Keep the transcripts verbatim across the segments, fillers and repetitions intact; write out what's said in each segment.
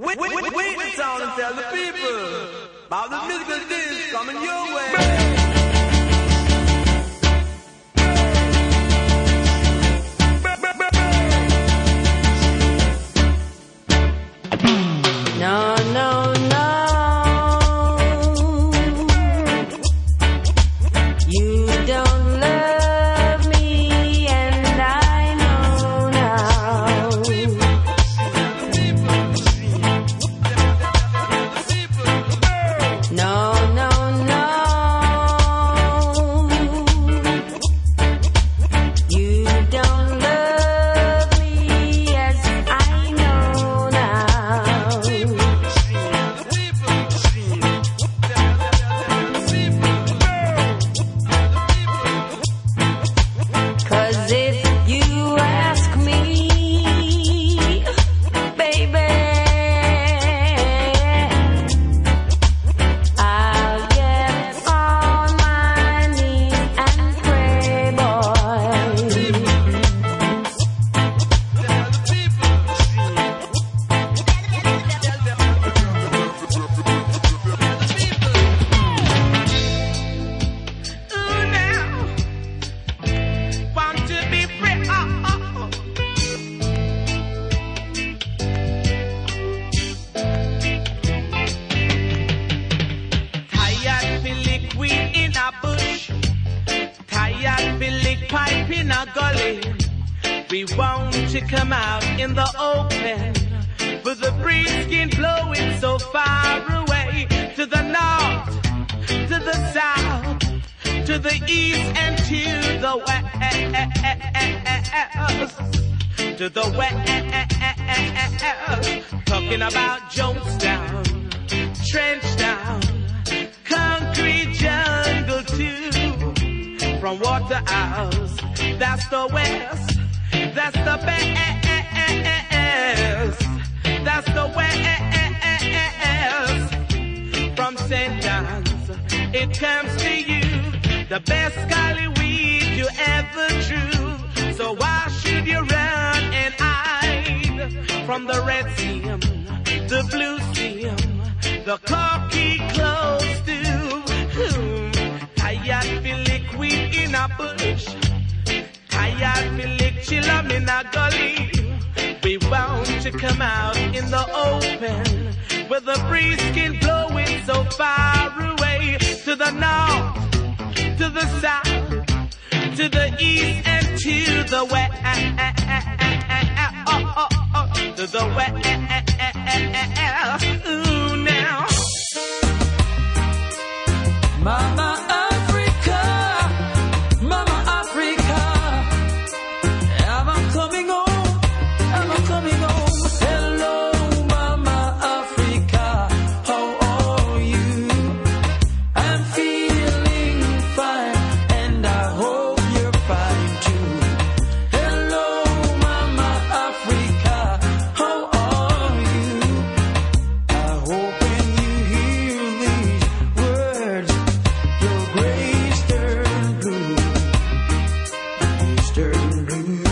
Wait, wait, wait, wait the town and tell the people about the musical disc coming your way. No, no, no. You don't love me, and I know now. No, no, no. You don't love me as I know now. Cause if you ask me, baby, I'll get on my knees and pray, boy. Ooh, now, want to be free. Oh, oh, oh. Tired be lick weed in a bush, tired be lick pipe in a gully. We want to come out in the open, with the breeze skin blowing so far away, to the north, to the south, to the east and to the west, to the west. Talking about Jonestown, Trenchtown, concrete jungle too. From Waterhouse, that's the west, that's the best, that's the west. From Saint John's, it comes to you, the best golly weed you ever drew. So why should you run and hide from the red seam, the blue seam, the cocky close to whom? Tired be lick weed in a bush, tired be lick chillum in a gully. We want to come out in the open, with the breeze skin blowing so far away, to the north, to the south, to the east and to the west, oh, oh, oh, to the west. Ooh, now, Mama Africa, Mama Africa, am I coming home? Am I coming home? Hello, Mama Africa, how are you? I'm feeling fine, and I hope you're fine too. Hello, Mama Africa, how are you? I hope when you hear these words, your grace turn blue, grace turn blue.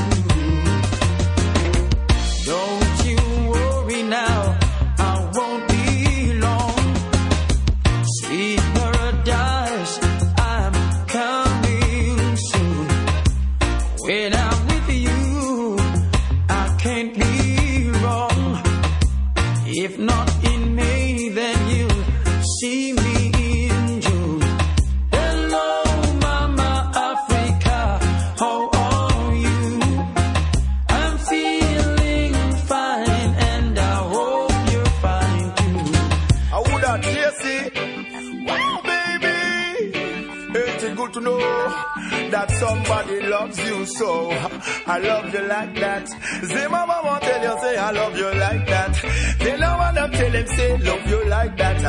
Don't you worry now, I won't be long. Sweet paradise, I'm coming soon. When I'm with you, I can't be wrong. If not in May, then you'll see me in June. Hello, Mama Africa, how are you? I'm feeling fine, and I hope you're fine too. I would have Tracy. Wow, baby. Ain't it good to know that somebody loves you so? I love you like that. Say, Mama won't tell you, say, I love you like that. They don't want to tell him, say, love you like that.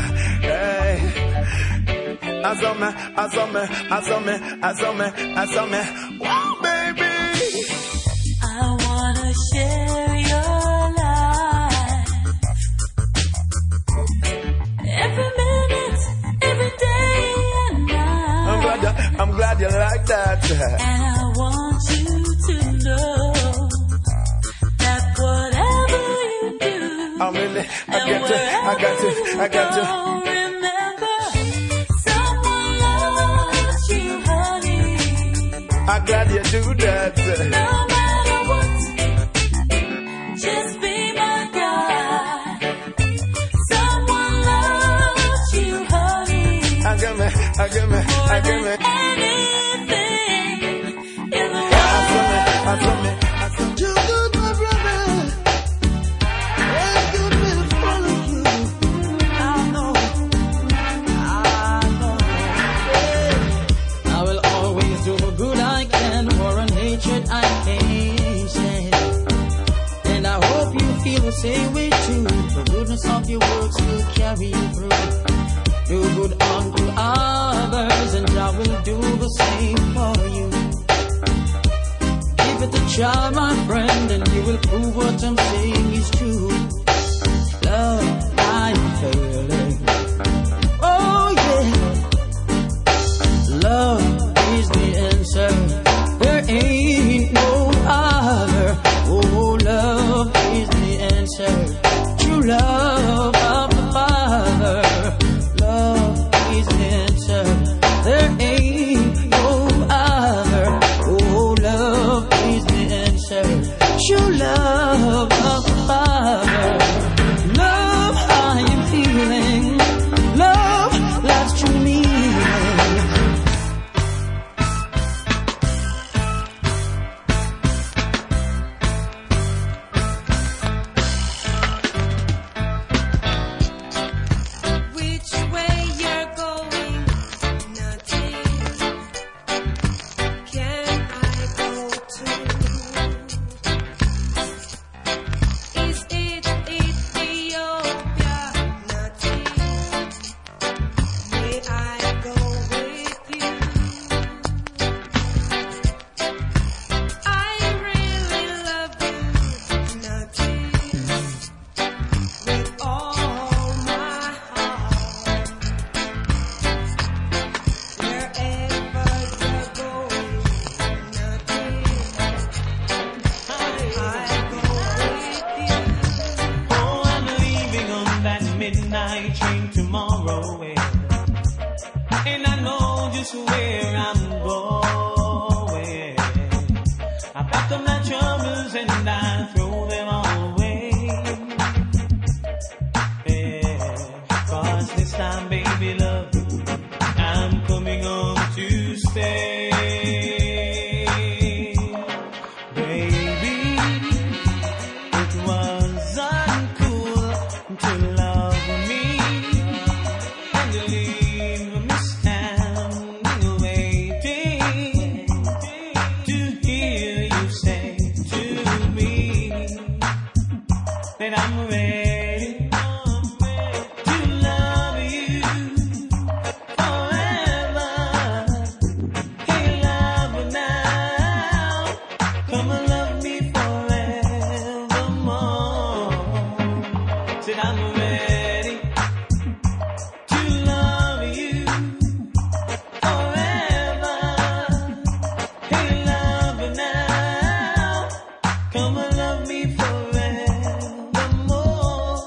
Hey. I saw me, I saw me, I saw me, I saw me, I saw me. Wow, baby. I wanna share your life, every minute, every day and night. I'm glad you, I'm glad you like that. And I want you to know that whatever you do, I'm really, I got to, I got to, I got to. Remember, someone loves you, honey. I'm glad you do that. No matter what, just be my guy. Someone loves you, honey. I got me, I got me, I got me. Anything in the I feel me, I feel me. Too good, my brother. It's good to follow you. I know, I know. I will always do the good I can for a nature I can't stand. And I hope you feel the same way too. The goodness of your works will carry you through. Do good unto others, and I will do the same for you. Give it a try, my friend, and you will prove what I'm saying is true. Love, I'm failing. Oh yeah. Love is the answer. There ain't no other. Oh, love is the answer. True love of the Father. Love is the answer. There ain't no other. Oh, love is the answer. True love of the Father. Love, I am feeling. Love, love's true meaning. Which way you're going, nothing can I go to. Is it Ethiopia? Nothing. May I go with you? I really love you, nothing. With all my heart, wherever you're going, nothing. I go with you. Oh, I'm leaving on that midnight train tomorrow, eh. And I know just where I'm going. I pack up my troubles and I throw them all away. Yeah, 'cause this time, baby, love, I'm coming home to stay. Baby, it was uncool to love me and to leave me standing waiting to hear you say to me that I'm ready to love you forever. Hey, love now, come and love me forevermore. Said I'm ready to love you forever. Hey, love now, come and love me forevermore.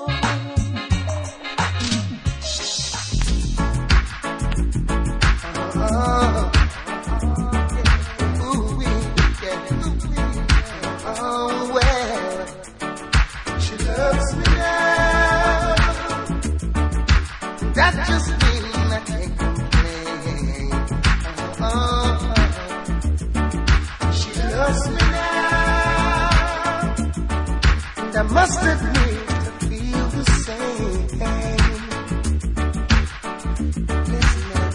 Oh, ooh, wee, yeah, ooh, wee. Oh, well, she loves me now. That just means I can't complain. Oh, she loves me now. And I must admit I feel the same. Listen now.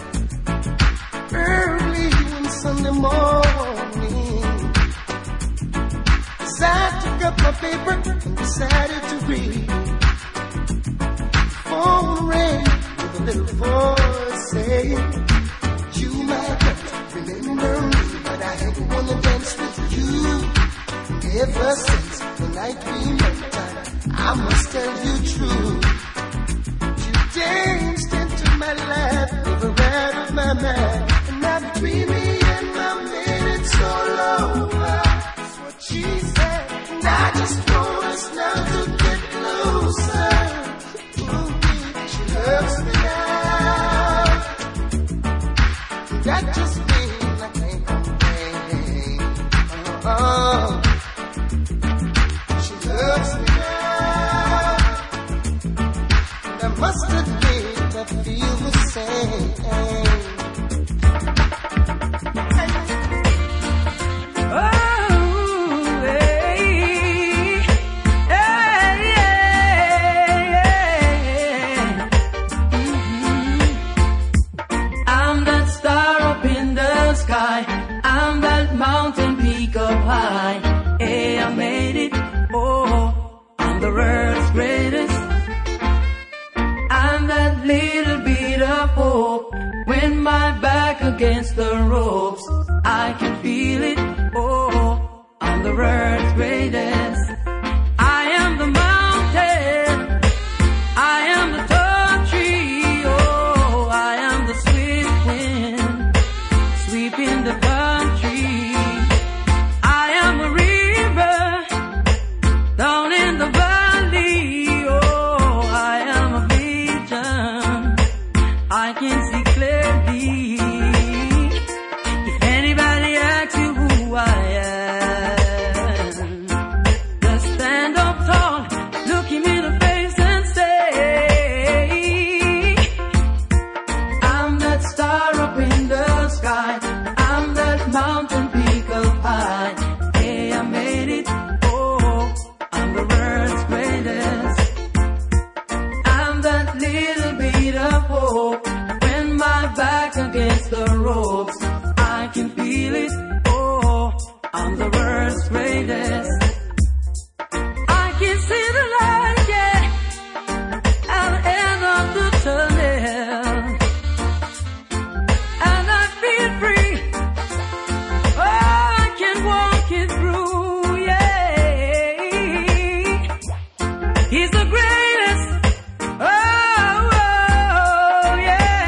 Early one Sunday morning, as I took up my paper and decided to read, phone rang with a little voice saying, "You might not remember me, but I had wanna dance with you. Ever since the night we met, I must tell you true. You danced into my life, never out of my mind. And now between me and my man, it's all over." That's what she said. And I just want us now to get closer. must admit I feel the same. I'm that mountain peak up high. Hey, I made it. Oh, I'm the world's greatest. I'm that little bit of hope. When my back against the ropes, I can feel it. Oh, I'm the world's greatest. I am the mountain. I am the tall tree. Oh, I am the swift wind sweeping the country. I am a river down in the valley. Oh, I am a vision I can see clearly. If anybody asks you who I am, just stand up tall, look him in the face and say, I'm that star up in the sky. I'm that mountain peak up high. Hey, I made it. Oh, I'm the world's greatest. I'm that little bit of hope. When my back against the ropes, I can feel it. Oh, I'm the world's greatest. I can see the light, yeah, at the end of the tunnel, and I feel free. Oh, I can walk it through, yeah. He's the greatest. Oh, oh,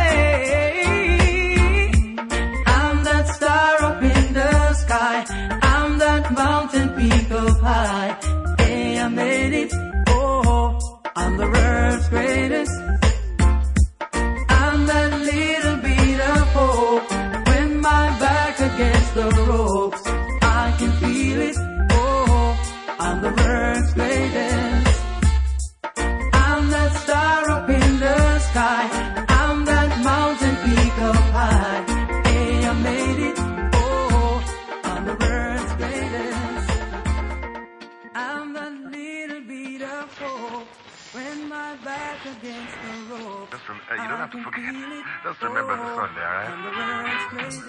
yeah. I'm that star up in the sky. I'm that mountain peak up high. Hey, I made it. Oh, I'm the world's greatest. I'm that little bit of hope. When my back against the ropes, I can feel it. Oh, I'm the world's greatest. I'm that star up in the sky. I'm that mountain peak up high. Hey, I made it. Oh, I'm the world's greatest. I'm that little bit of hope. When my back against the ropes, Just rem- uh, you don't have to I can forget. feel it. Just remember the Sunday, all right? I'm the world's greatest.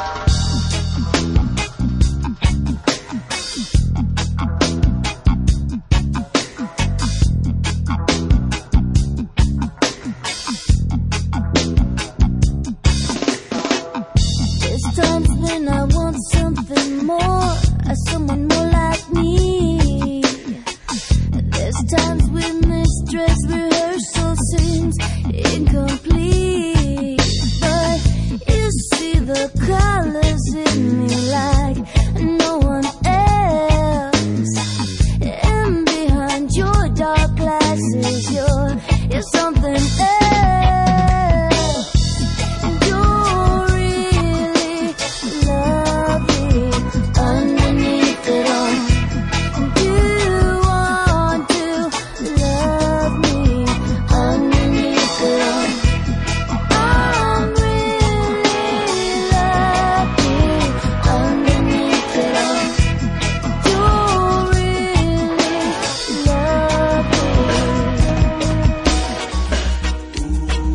There's times when I want something more, someone more like me. There's times when this dress rehearsal seems incomplete. But you see the colors in me like no one else. And behind your dark glasses, you're, you're something else. You're really lovely underneath it all. You want to love me underneath it all. I'm really lucky underneath it all. You're really lovely.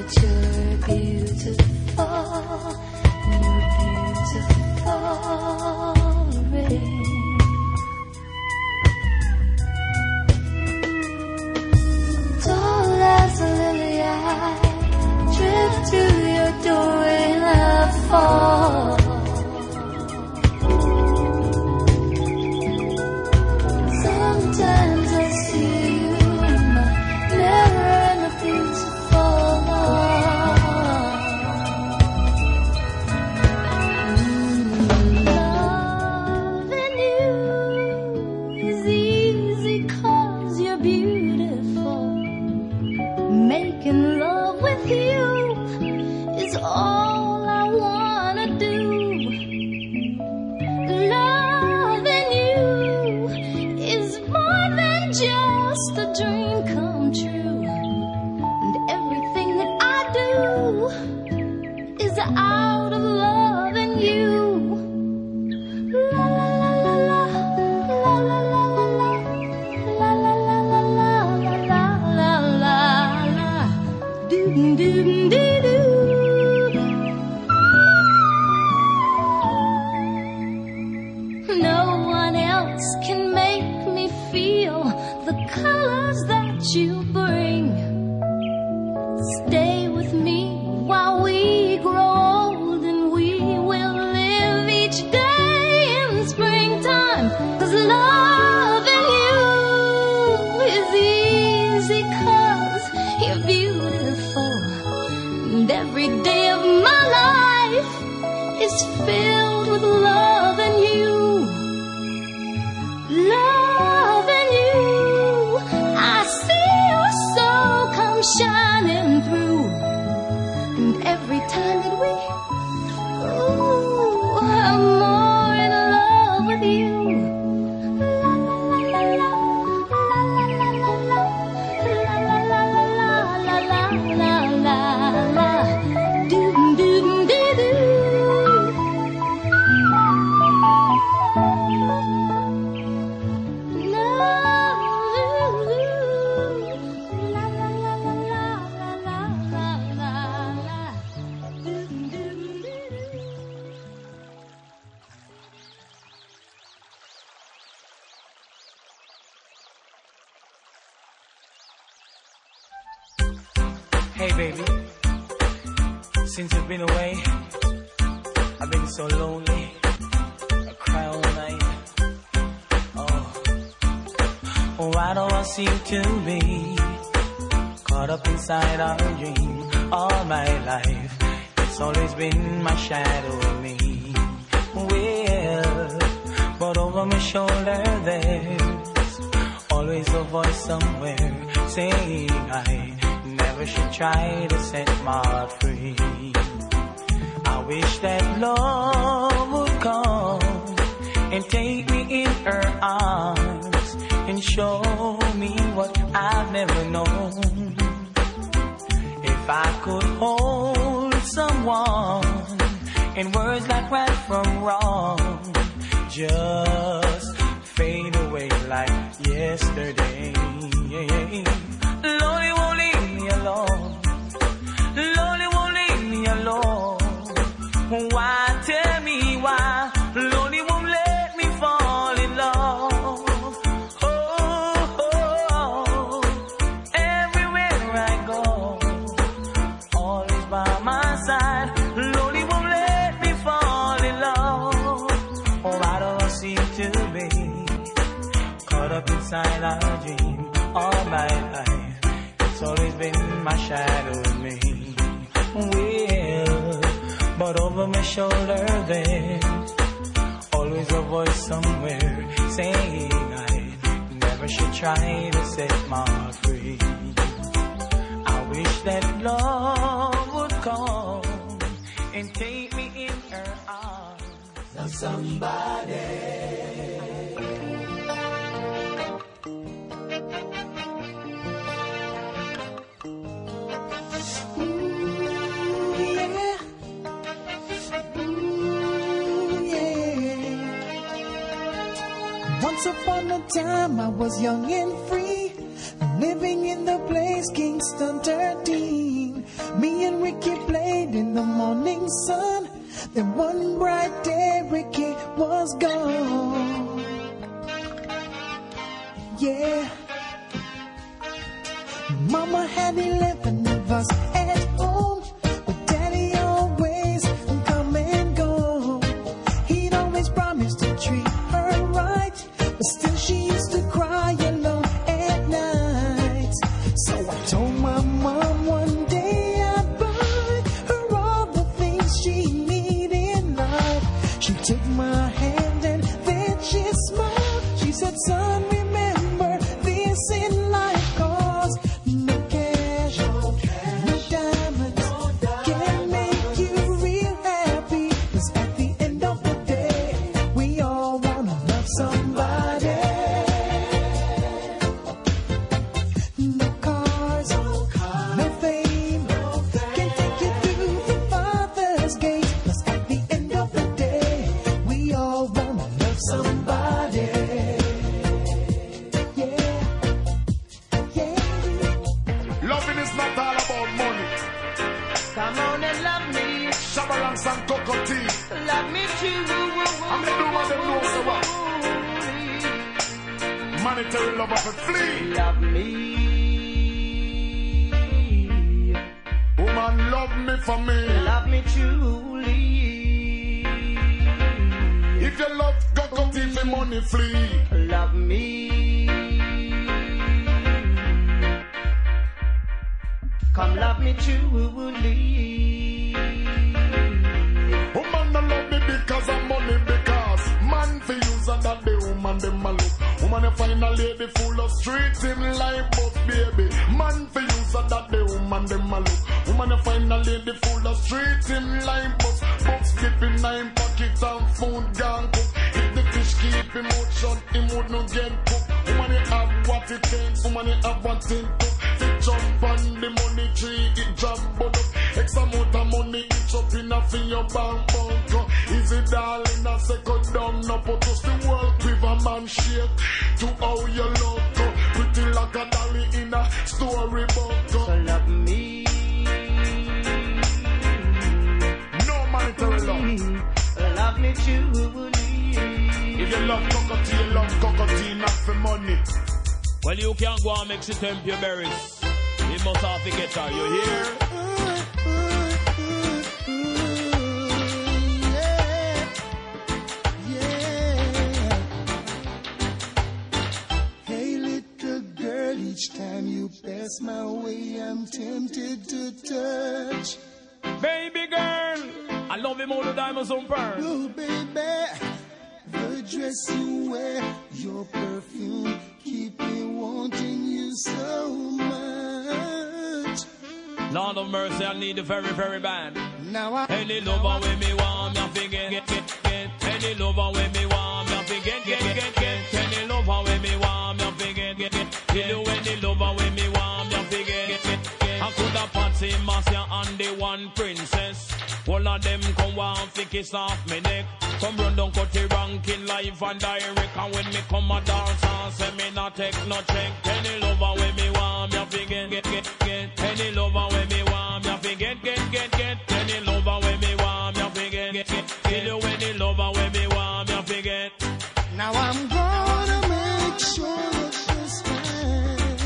that you're beautiful, you're beautiful, rain. Tall as a lily, I drift to your door and I fall. Sometimes I see you in my mirror and I feel so loving you is easy 'cause you're beautiful. Making love with you is all I wanna do. Loving you is more than just a dream come true. And everything that I do is out of loving you. La la la la la, la la la la la, la la la la la, la la la la, do do do do. No one else can make me feel the colors that you bring. Stay with me while we grow old and we will live each day in springtime. 'Cause loving you is easy 'cause you're beautiful. And every day of my life is filled with loving you. Loving you, I see your soul come shining through. And every time that we, ooh, I'm more in love with you. La la la la la, la la la la, la la la la la, la la la, do do do do. Hey baby, since you've been away, I've been so lonely. I cry all night. Oh, why do I seem to be caught up inside our dream all my life? It's always been my shadow of me. Well, but over my shoulder there's always a voice somewhere saying I never should try to set my heart free. I wish that love would come and take me in her arms and show me what I've never known. If I could hold someone in words like right from wrong, just fade away like yesterday. Lord, you won't leave me alone. Lord, you won't leave me alone. Why, tell me why? Lord, you won't let me fall in love. Oh, oh, oh. Everywhere I go, always by my side. Lord, you won't let me fall in love. Oh, why do I seem to be caught up inside our dream all my life? It's always been my shadow with me. Well, but over my shoulder there's always a voice somewhere saying I never should try to set my heart free. I wish that love would come and take me in her arms. Now somebody. Once upon a time I was young and free, living in the place Kingston thirteen. Me in the morning sun. Then one bright day Ricky was gone. Yeah. Mama had eleven of us at home, but Daddy always come and go. He'd always promise to treat her right, but still she used to cry alone at night. So I told my mom one day I'd buy her all the things she needed in life. She took my hand and then she smiled. She said, son, remember this in life, 'cause no cash, no diamonds can make you real happy. 'Cause at the end of the day, we all wanna love somebody. No cars, no fame can take you through the Father's gate. 'Cause at the end of the day, we all wanna love somebody. Loving is not all about money. Come on and love me. Shabalance and cocotte. Love me too. I'm the woman that knows the what. Monetary love of a flea. Love me. Woman, love me for me. Love me truly. If you love cocotte, for money flee. Love me. Come love me truly. Woman, no love me because of money, because man for use and that the woman them a look. Woman, you find a lady full of streets in life, but baby, man for use and that the woman them a look. Woman, you find a lady full of streets in life, but books keeping nine pockets and food gone cook. If the fish keep him out shut, him would not get cooked. Woman, you have what it takes, woman, you have what it took. It jump on the money tree, it jump but up. X amount of money, it's up enough in your bank bank. Easy darling, I say go down, no put us the world with a man shake. To how you look, pretty like a dolly in a storybook. So love me. No monetary love. Love me truly. If you love cockatoo, you love cockatoo, not for money. Well, you can't go and mix it temp your berries. You must have to get her, you hear? Hey, little girl, each time you pass my way, I'm tempted to touch. Baby girl, I love him all the diamonds on pearl. Oh, baby, the dress you wear, your perfume, keep me wanting you so much. Lord of mercy, I need it very, very bad. Now I Any lover with me want me, I forget, get, get, get. Any lover with me want me, I forget, get, get, get. Any lover with me want me, I forget, get, get. You do any lover with me want me, I forget, get, get, get. I could have Patsy, Marcia, and the one princess. All of them come want to kiss off me neck. Come run down cut the ranking live and direct. And when me come a dance and say me not take no check. Any lover with me want me, I forget, get, get, get. Any lover with me want me, I forget, get, get, get. Any lover with me want me, I forget, get, get. Kill you any lover with me want me, I forget. Now I'm gonna make sure that this time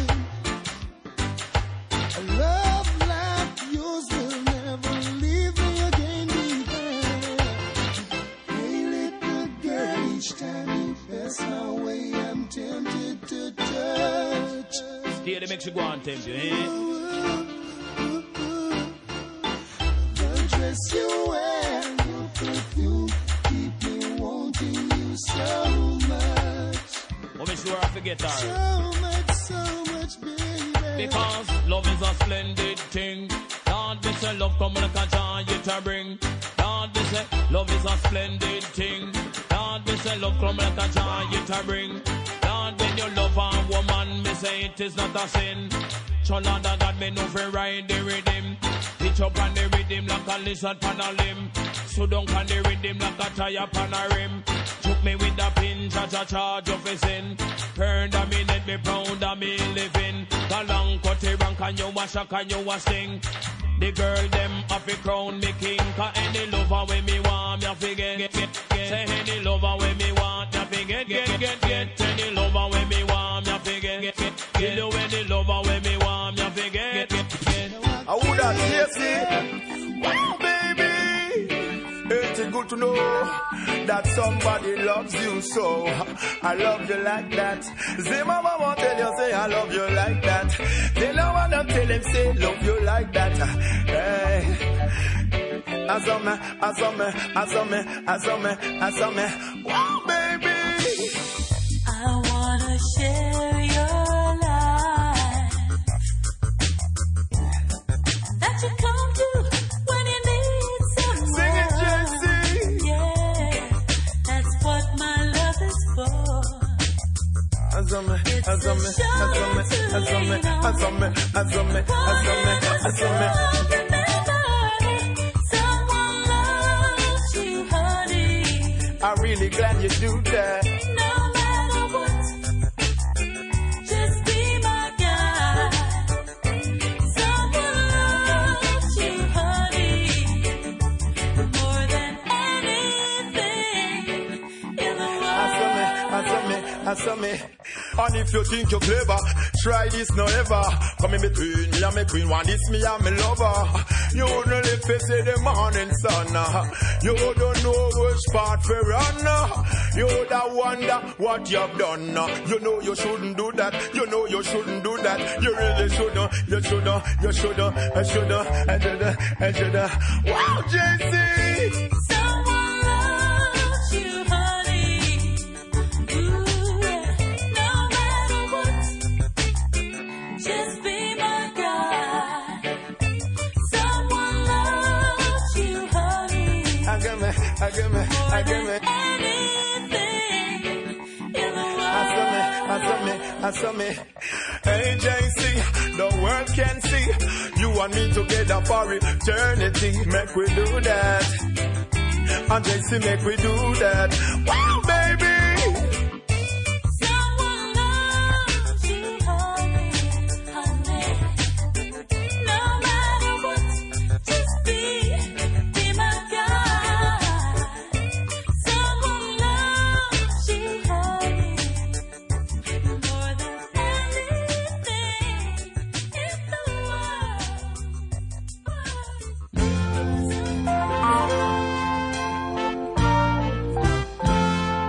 a love like yours will never leave me again behind. Hey, little girl, each time you pass my way, I'm tempted to touch. Here they make you go and tempt you, eh? The dress you wear, your perfume, keep me wanting you so much. Oh, make sure I forget her. So much, so much, baby. Because love is a splendid thing. Lord, we say love come like a joy it a bring. Lord, we say love is a splendid thing. Lord, we say love come like a joy it a bring. Lord, when you love a woman, me say it is not a sin. Chola da God, me no free ride the rhythm. Pitch up on the rhythm like a lizard pan a limb. So down on the rhythm like a tire pan a rim. Took me with a pin, cha-cha charge of a sin. Heard a minute, me proud of me living. The long cut the rank and you a shock and you a sting. The girl them have to crown me king. Cause any lover when me want, me have to get, get, get, get. Say any lover when me want, me have to get, get, get, get. Any lover when me want, me have to get, get, get. You know any lover when me want, me have to get, get, get. I would have tasty. Wow, baby. Ain't it good to know that somebody loves you so? I love you like that. Say mama won't tell you, say I love you like that. Tell her one and tell him, say love you like that. Hey. I saw me, I saw me, I saw me, I saw me, I saw me. Wow, baby. I wanna share your life that you come to when you need someone. Sing it, Jesse. Yeah, that's what my love is for. I saw me, I saw me, I saw me, I saw me, I saw me, I saw me, I saw me, I saw me. Someone loves you, honey. I'm really glad you do that. No matter what, just be my guy. Someone loves you, honey, more than anything in the world. I saw me, I saw me, I saw me. And if you think you're clever, try this no ever. Come in between me and me queen, one this me and me lover. You wouldn't live to see the morning sun. You don't know which part for run. You would wonder what you've done. You know you shouldn't do that. You know you shouldn't do that. You really shouldn't. You shouldn't. You shouldn't. I shouldn't. I shouldn't. I shouldn't. Wow, J C. Someone loves you, honey. Ooh, yeah. No matter what, just be my guy. Someone loves you, honey. I give me, I give me, I give me. Anything in the world. I saw me, I saw me, I saw me. Hey J C, the world can see you and me together for eternity. Make we do that. And J C, make we do that. Wow, baby. Someone loves you, honey, honey. No matter what, just be, be my guy. Someone loves you, honey, more than anything in the world.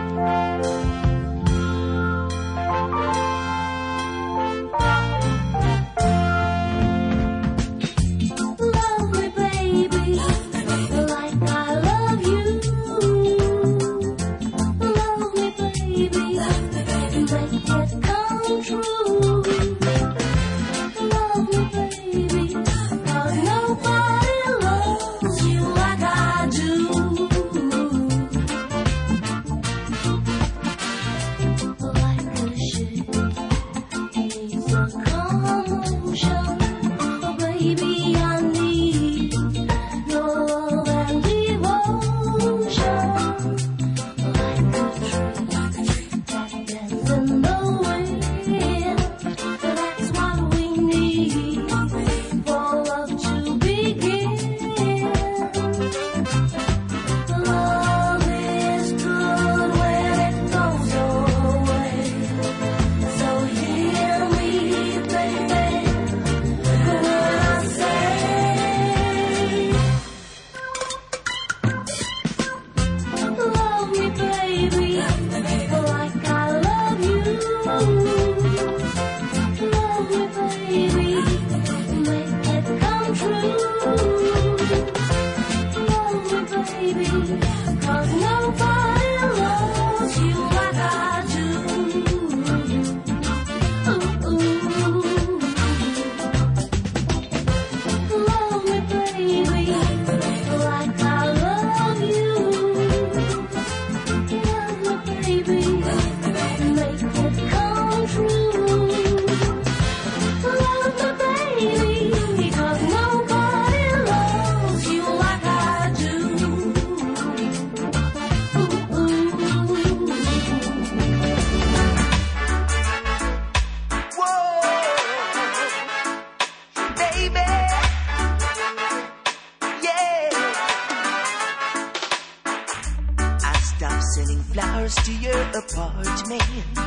flowers to your apartment.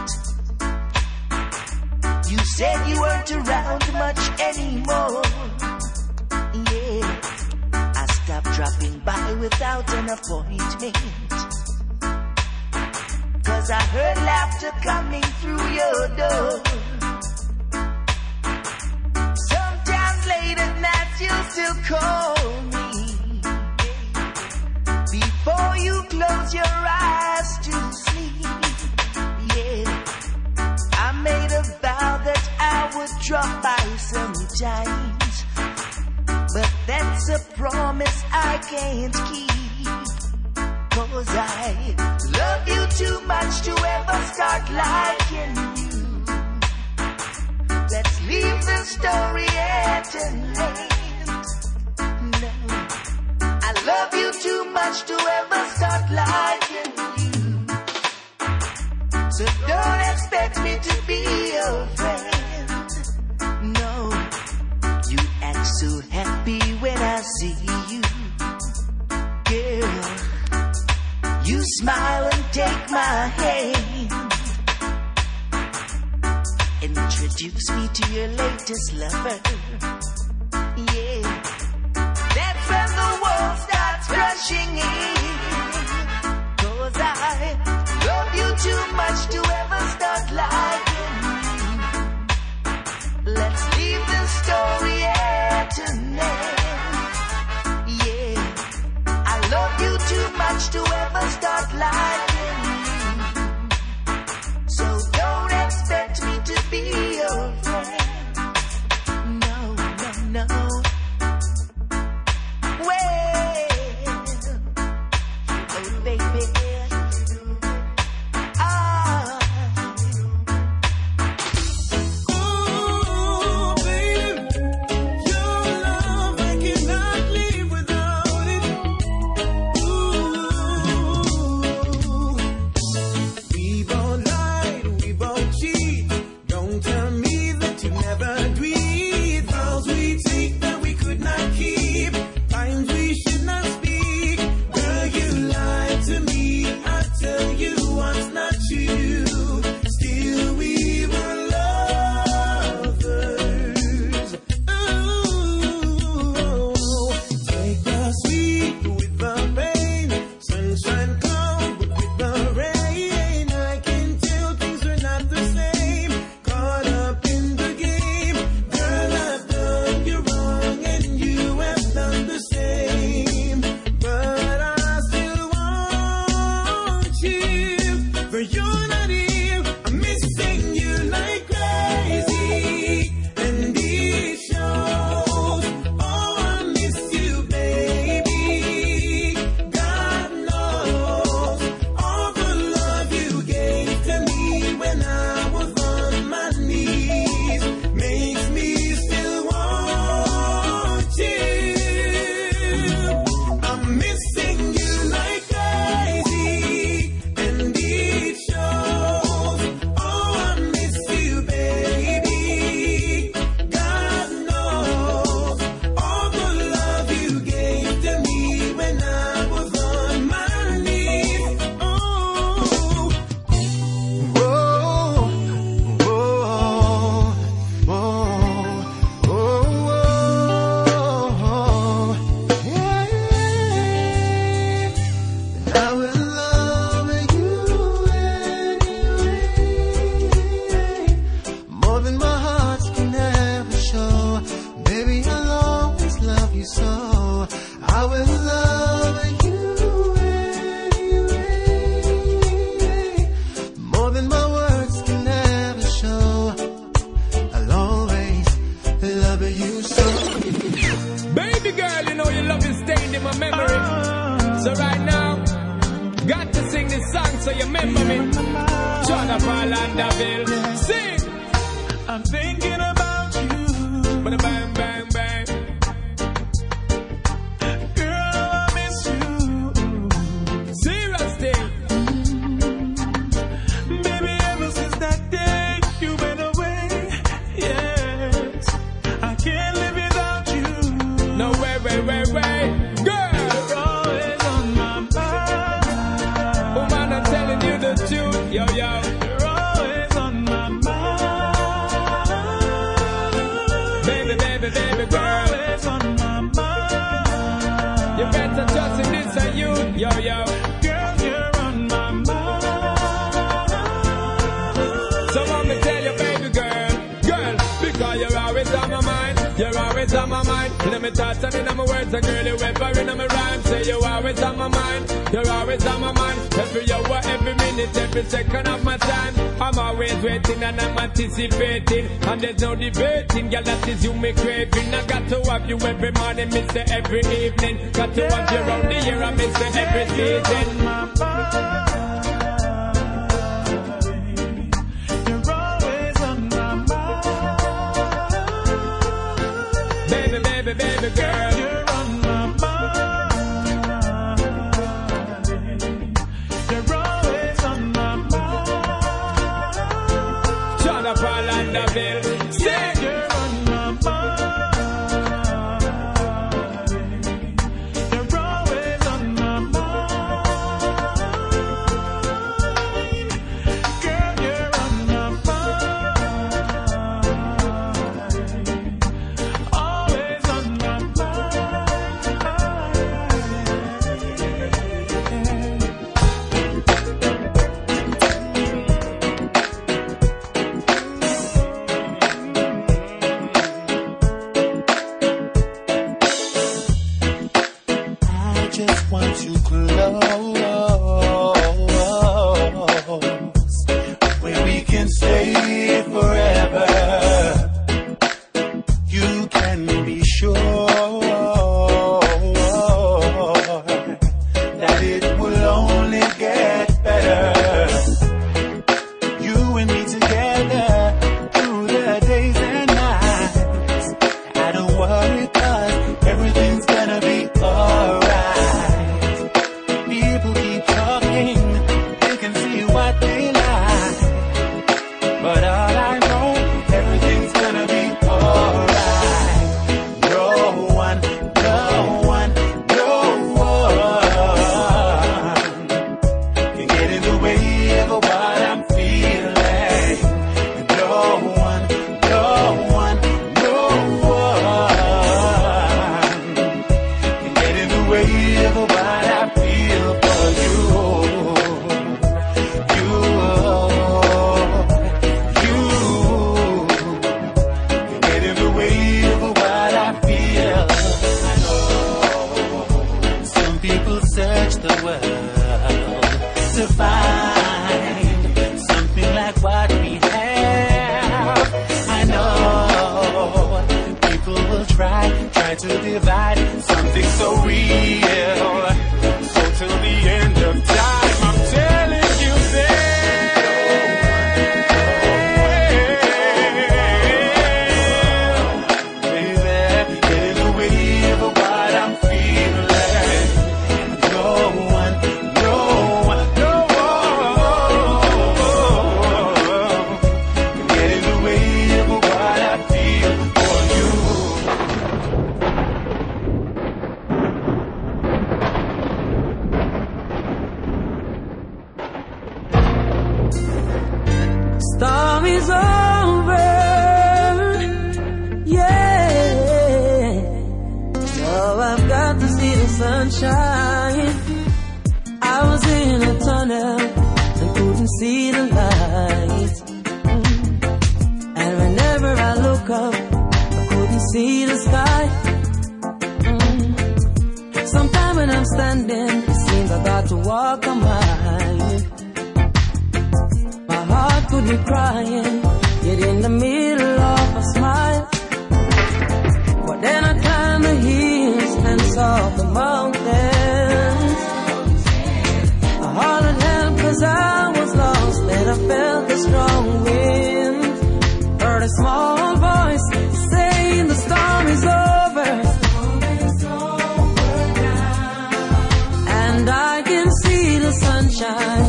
You said you weren't around much anymore. Yeah, I stopped dropping by without an appointment. Cause I heard laughter coming through your door. Sometimes late at night you'll still call me. Before you close your eyes to sleep. Yeah, I made a vow that I would drop by sometimes. But that's a promise I can't keep. Cause I love you too much to ever start liking you. Let's leave the story at an end. No, I love you too much to ever start liking you. So don't expect me to be your friend. No, you act so happy when I see you. Girl, you smile and take my hand. Introduce me to your latest lover. Yeah, that's when the world starts crashing in. Cause I love you too much to ever start liking you. Let's leave the story at an end. Yeah, I love you too much to ever start liking you. So don't expect me to be your friend. No, no, no. Well, oh baby, ah. Oh, baby, your love I cannot live without it. Ooh, we both lied, we both cheat. Don't tell me that you never agreed. Vows we take that we could not keep. Times we should not speak. Girl, you lied to me. I tell you what's not true. Still we were lovers. Ooh, take the sweet with the pain. Sunshine come with the rain. I can tell things were not the same. Caught up in the game. Girl, I've done you wrong and you have done the same. But I still want you. For you're not here. I'm missing you like crazy. And it shows. Oh, I miss you, baby. God knows all the love you gave to me when I was on my knees makes me still want you. I'm missing you like crazy, and it shows. Oh, I miss you, baby. God knows all the love you gave to me when I was on my knees. Oh. Whoa, whoa, whoa, whoa, yeah. I will love you anyway, more than my heart can ever show. Baby, I'll always love you so. I will love you anyway, more than my words can ever show. I'll always love you so. Baby girl, you know your love is stained in my memory. So right now, got to sing this song so you remember me. Jonathan Landaville, sing. I'm thinking about you. Bada bang bang bang. Girl, I miss you. Serious thing. Baby, ever since that day you went away, yes, I can't live without you. No way, way, way, way. Girl, You're always on my mind. oh man, I'm telling you the yo. Girl, you're on my mind. So let me tell you, baby girl, girl, because you're always on my mind. You're always on my mind. In my thoughts and in my words, a girl, you ever in my rhyme. Say you're always on my mind. You're always on my mind. Every hour, every minute, every second of my time. I'm always waiting and I'm anticipating. And there's no debating, girl, that is you me craving. I got to have you every morning, miss it every evening. Got to have you around the year, I miss it every season. You're always on my mind. Baby, baby, baby girl, you're on my mind. You're always on my mind. John of Orlandoville, say you're on my mind. You're always on my mind. Girl, you're on my mind. Always on my I just want you close, where we can stay forever. You can be sure that it will only get better. You and me together through the days and nights. I don't worry 'cause everything's gonna be alright. People keep talking, they can see what they like, but all I know, everything's gonna be alright. No one, no one, no one can get in the way of what I'm feeling. No one, no one, no one can get in the way of what I feel for you. You, you can get in the way of what I feel. I know some people search the world to find something like what we have. I know people will try, try to divide something so real. So till the end of time, I'm telling you this, baby, get in the way of what I'm feeling. No one, no one, no one can get in the way of what I feel for you. Storm is over, yeah. Now I've got to see the sunshine. I was in a tunnel and couldn't see the light. And whenever I look up, I couldn't see the sky. Sometimes when I'm standing, it seems I got to walk a mile. My heart could be crying, yet in the middle of a smile. But then I climbed the hills and saw the mountains. I hollered help 'cause I was lost, and I felt the strong wind. Heard a small voice saying the storm is over. And I can see the sunshine.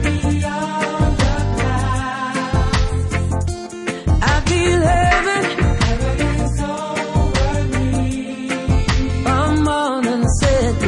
I feel heaven. Come on and sit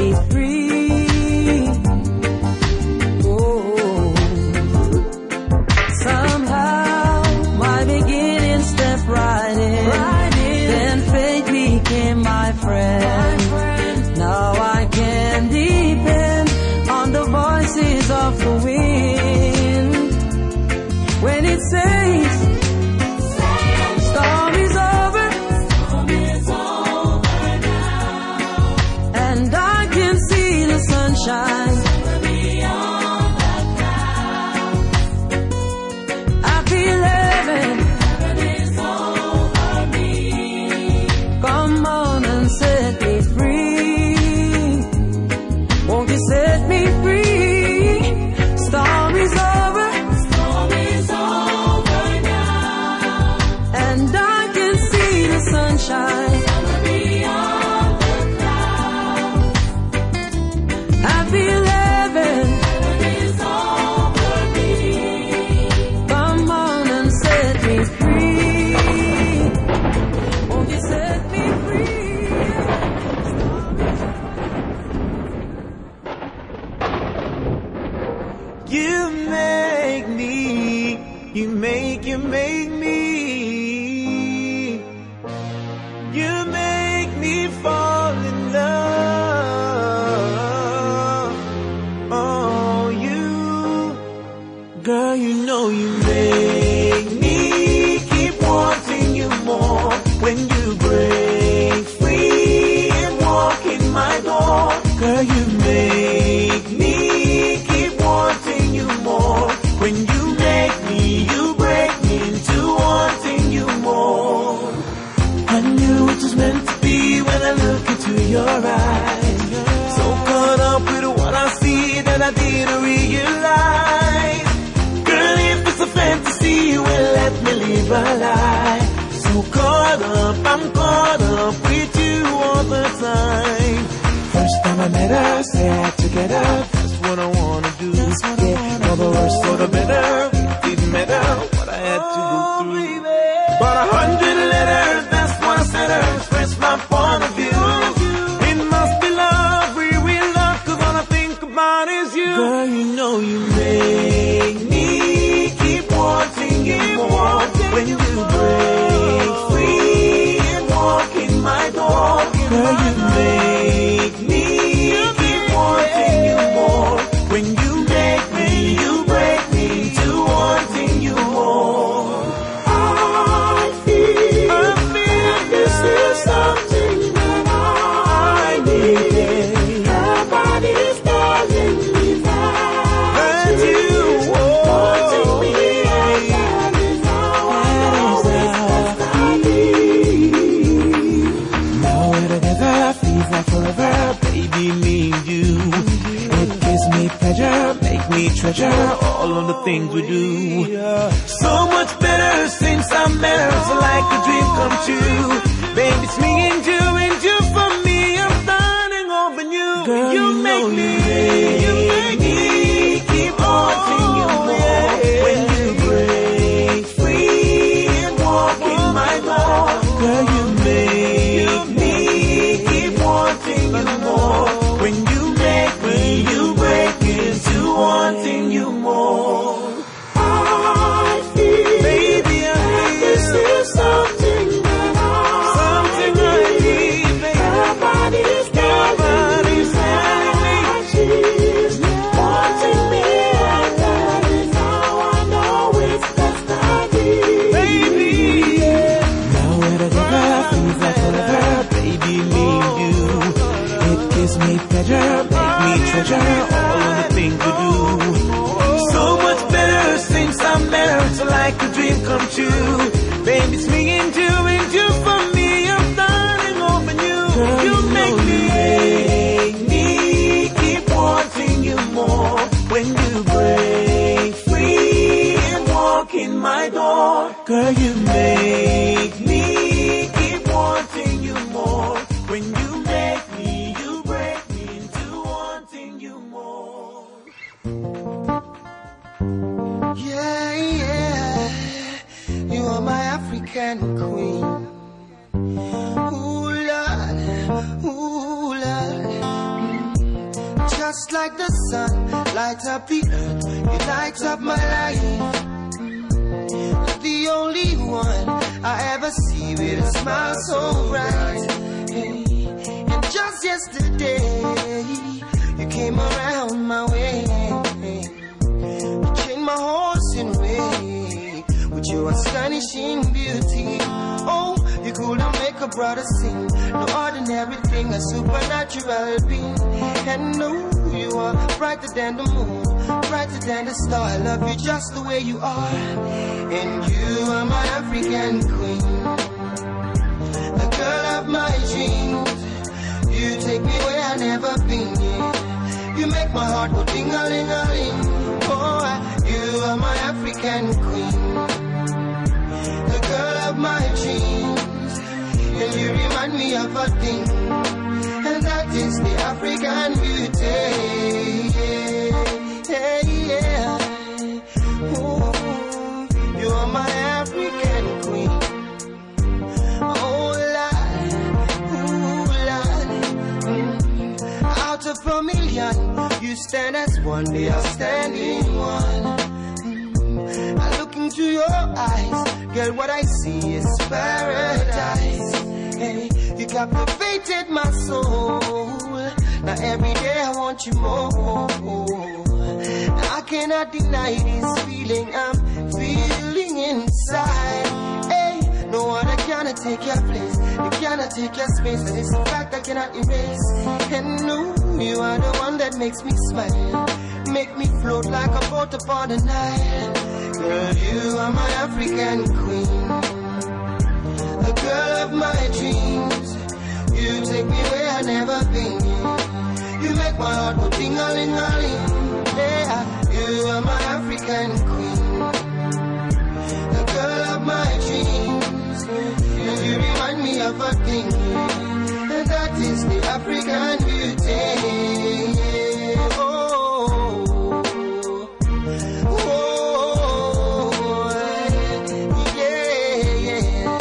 sunshine. Beyond the clouds. I feel heaven. Heaven is over me. Come on and set me free. Won't you set me free? Storm is over. Storm is over now. And I can see the sunshine. Beyond the clouds. I feel heaven. Heaven is over me. Come on and set me free. Won't you set me free? You make me, you make, you make me. You make me fall in love. Oh, you, girl, you know you make me keep wanting you more. When you break free and walk in my door, girl, you make me keep wanting you more. When you make me, you break me into wanting you more. I knew it was meant to be when I look into your eyes. So caught up with what I see that I didn't realize. Girl, if it's a fantasy, well, let me live a lie. So caught up, I'm caught up with you all the time. First time I met her, say I had to get her. That's what I wanna do. Yeah, all the worse, so the better. It didn't matter what I had to go through. But a hundred letters, that's what I said her. Express my point of view. It must be love, we will love, cause all I think about is you. Girl, you know you make me keep wanting you more. When you break free and walk in my door, girl, you make me keep wanting you more. When you make me, you break me to wanting you more. I feel, I feel this is something that I need. Your body's telling me that you wanting me, and that is how I know it's best to be. Now we're together, feels like forever, baby, me and you. It gives me pleasure, make me treasure all of the things we do. So much better since I met her, so like a dream come true. Baby, it's me and you, and you for me. I'm starting over new. Girl, you, you make me, you make me keep wanting you more. When you break free and walk in my door, girl, you make me keep wanting you more. When you make me, you break into wanting you more. I feel, baby, I feel this is something that I, something I need, baby. Your body's telling me that she's wanting me, and that is how I know it's best to be. Baby, now we're together, feels like forever, baby, me and you. It gives me pleasure, make me treasure all of the things we do. So much better since I met her, so like a dream come true. Baby, it's me and you, and you for me. I'm starting over new. Girl, you make me, make me keep wanting you more. When you break free and walk in my door, girl, you make me keep wanting you more. When you make me, you break me into wanting you more. Yeah, yeah, you are my African queen. Ooh, Lord, ooh, Lord. Just like the sun, light up the earth, you light up my life. The only one I ever see with a smile so bright. Hey, and just yesterday, you came around my way. You changed my horse in way with your astonishing beauty. Oh, you couldn't make a brother sing. No ordinary thing, a supernatural being. And no, you You are brighter than the moon, brighter than the star. I love you just the way you are. And you are my African queen, the girl of my dreams. You take me where I've never been, yeah. You make my heart go ding-a-ling-a-ling. Oh, you are my African queen, the girl of my dreams. And you remind me of a thing, and that is the African beauty. Yeah, yeah, yeah. Ooh, you are my African queen. Oh, Lord, ooh, Lord. Mm. Out of a million, you stand as one, the outstanding one. Mm. I look into your eyes, girl, what I see is paradise. Hey, you captivated my soul. Now every day I want you more. Now I cannot deny this feeling I'm feeling inside. Hey, no one cannot take your place, you cannot take your space. That is a fact I cannot erase. And no, you are the one that makes me smile, make me float like a boat upon the Nile. Girl, you are my African queen, the girl of my dreams. You take me where I've never been. You make my heart go ting-a-ling-a-ling. Yeah, you are my African queen, the girl of my dreams. And you remind me of a thing, and that is the African beauty. Oh, oh, yeah, yeah.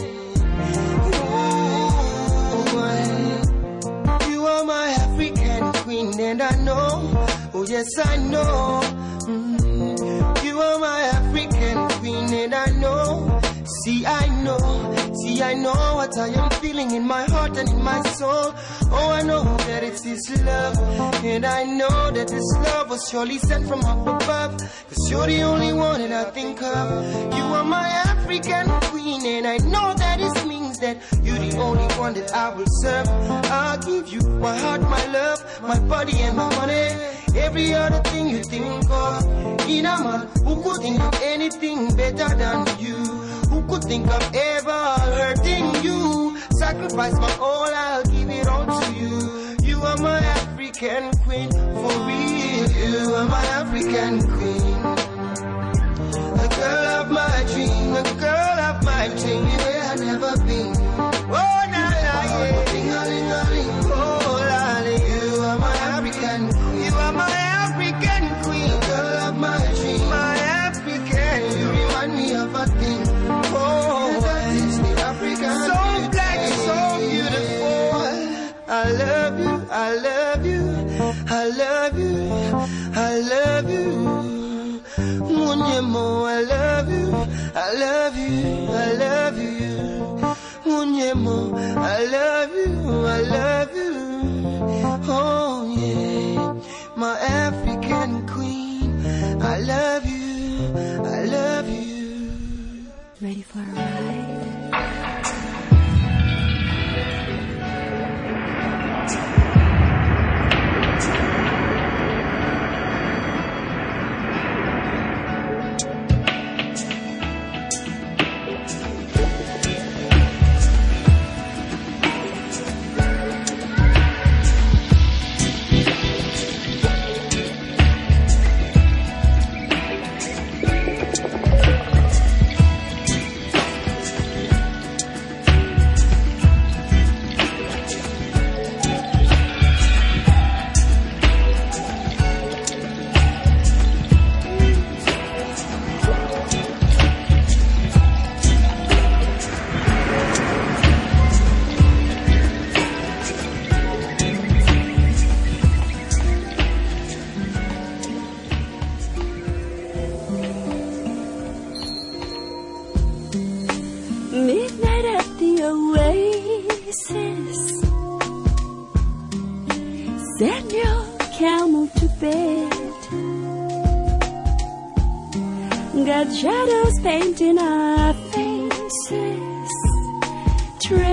Oh, you are my African queen, and I know, oh yes I know. Mm, you are my African queen, and I know. See, I know, see, I know what I am feeling in my heart and in my soul. Oh, I know that it's this love, and I know that this love was surely sent from up above. Cause you're the only one that I think of. You are my African queen, and I know that it means that you're the only one that I will serve. I'll give you my heart, my love, my body and my money. Every other thing you think of. In a man who could think of anything better than you, who could think of ever hurting you. Sacrifice my all, I'll give it all to you. You are my African queen, for real. You are my African queen, the girl of my dream, the girl of my dream. Where I've never been. Oh, na na, yeah. Oh, lolly. You are my African queen. You are my African queen, the girl of my dream, my African. You remind me of a thing. Oh, that is the African. So black, so beautiful. I love you, I love you, I love you, I love you. Munyemo, I love you, I love you, I love you. Munyemo, I love you, I love you. Oh yeah, my African queen, I love you, I love you. Ready for a ride? Midnight at the oasis. Send your camel to bed. Got shadows painting our faces,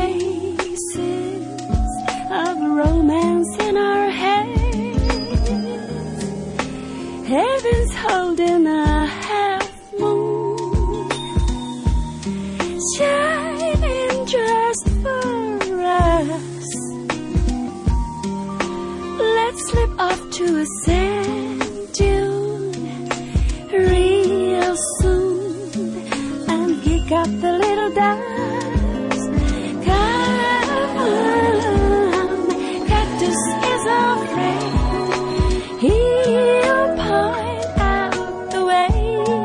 traces of romance in our head. to a sand dune real soon and kick up the little dust. Come on, cactus is our friend. He'll point out the way.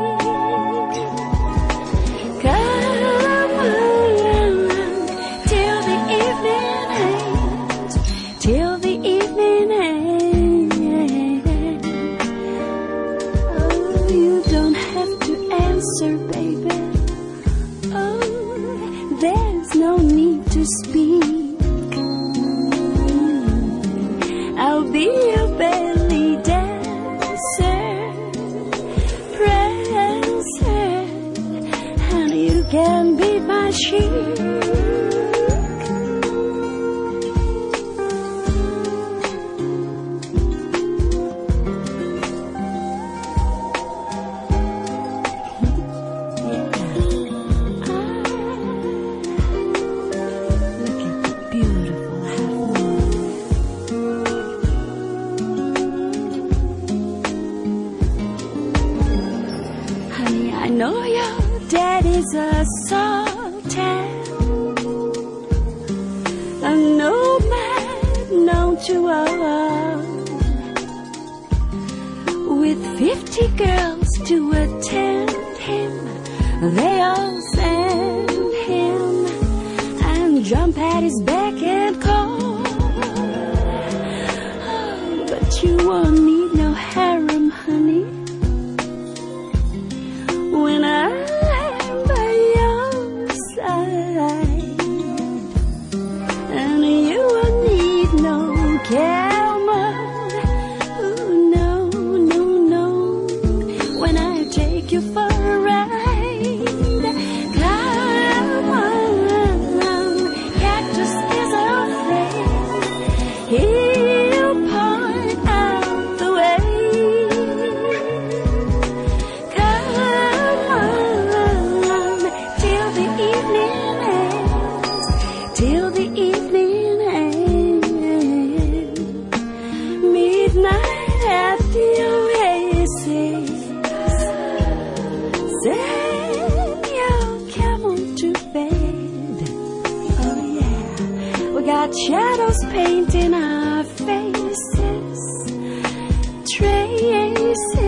Come on, till the evening ends, till the evening ends. Oh, you don't have to answer, baby. Oh, there's no need to speak. I'll be your belly dancer, prancer, and you can be my sheep. Honey, I know your daddy's a sultan, a nomad known to all, with fifty girls to attend him. They all send him and jump at his beck and call. Oh, but you won't need no harem, honey, when I'm by your side. And you won't need no camel. Ooh, no, no, no, when I take you for a ride. Come on, cactus is our friend. He'll point out the way. Come on, till the evening ends, till the evening ends. Midnight at the oasis, send your camel to bed. Oh yeah, we got shadows painting our faces, traces